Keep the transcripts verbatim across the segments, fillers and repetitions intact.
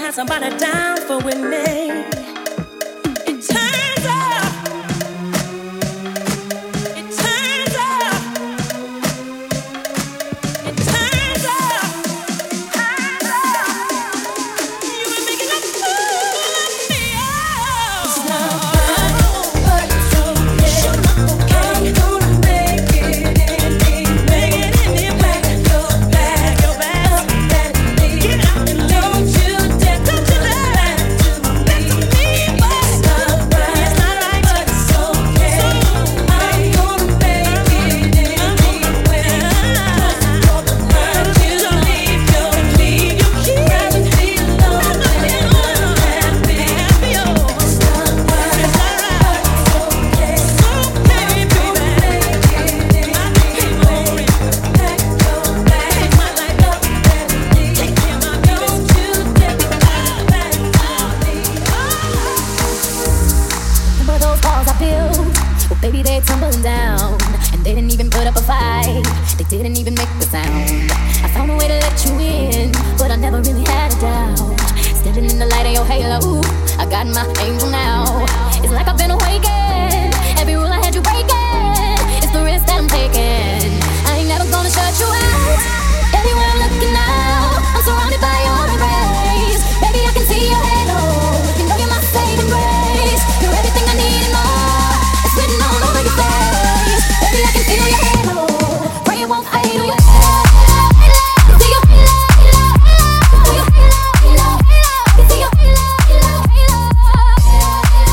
had somebody down for with me. It turns out, it turns out, it turns out, turns out, you were making a fool of me. Oh, it's not but it's okay. I'm gonna make it in, make it in the back, your back, your back. Get out and don't you dare, don't you dare to me, but it's not right, it's not right, but it's okay. I'm gonna make it anywhere. Hurt you, leave your, leave your key, rather be alone than unhappy. It's not right, it's not right, but it's okay. So baby, baby, I'll make it anywhere. Pack your bag, take my life up and leave. Take care of my baby, don't you dare go back on me. Remember those walls I built? Well, baby, they tumbling down, and they didn't even put up a fight. They didn't even make the sound. I found a way to let you in, but I never really had a doubt. Standing in the light of your halo, I got my angel now. It's like I've been awakened. Every rule I had you breaking. It's the risk that I'm taking. I ain't never gonna shut you out. Everywhere I'm looking now, I'm surrounded by your embrace. Baby, I can see your halo. You know you're my saving grace. You're everything I need and more. It's written all over your face. Baby, I can feel your halo. Pray it won't fade away. See your halo, halo, halo. See your halo, halo, halo. See your halo, halo, halo.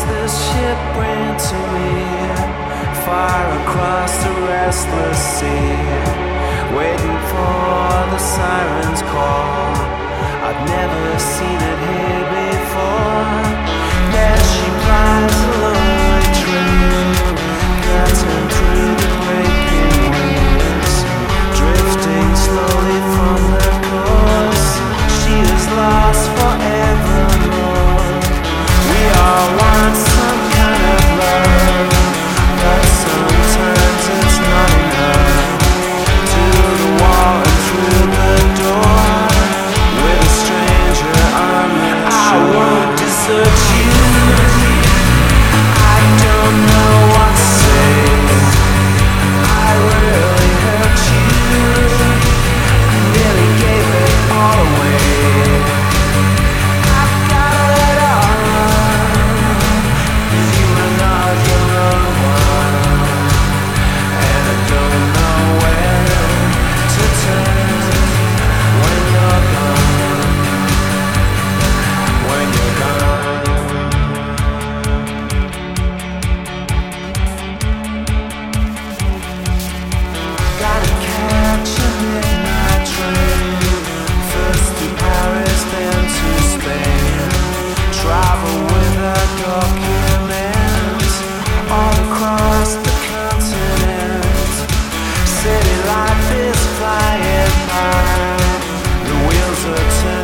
this ship bring to me? Far across the restless sea, waiting for the siren's call. I've never seen it here before. There she flies a lonely train, cutting through the breaking waves, drifting slowly from her course. She is lost forevermore. We all want some kind of love, but sometimes it's not enough. To the wall and through the door, with a stranger on the shore. I won't desert you. I don't know what to say. I really hurt you. I nearly gave it all away. I've got it all. You are not the wrong one, and I don't know where to turn when you're gone. When you're gone. Gotta catch a midnight train, first to Paris, then to Spain. Travel with a document all across the continent. City life is flying by, the wheels are turning.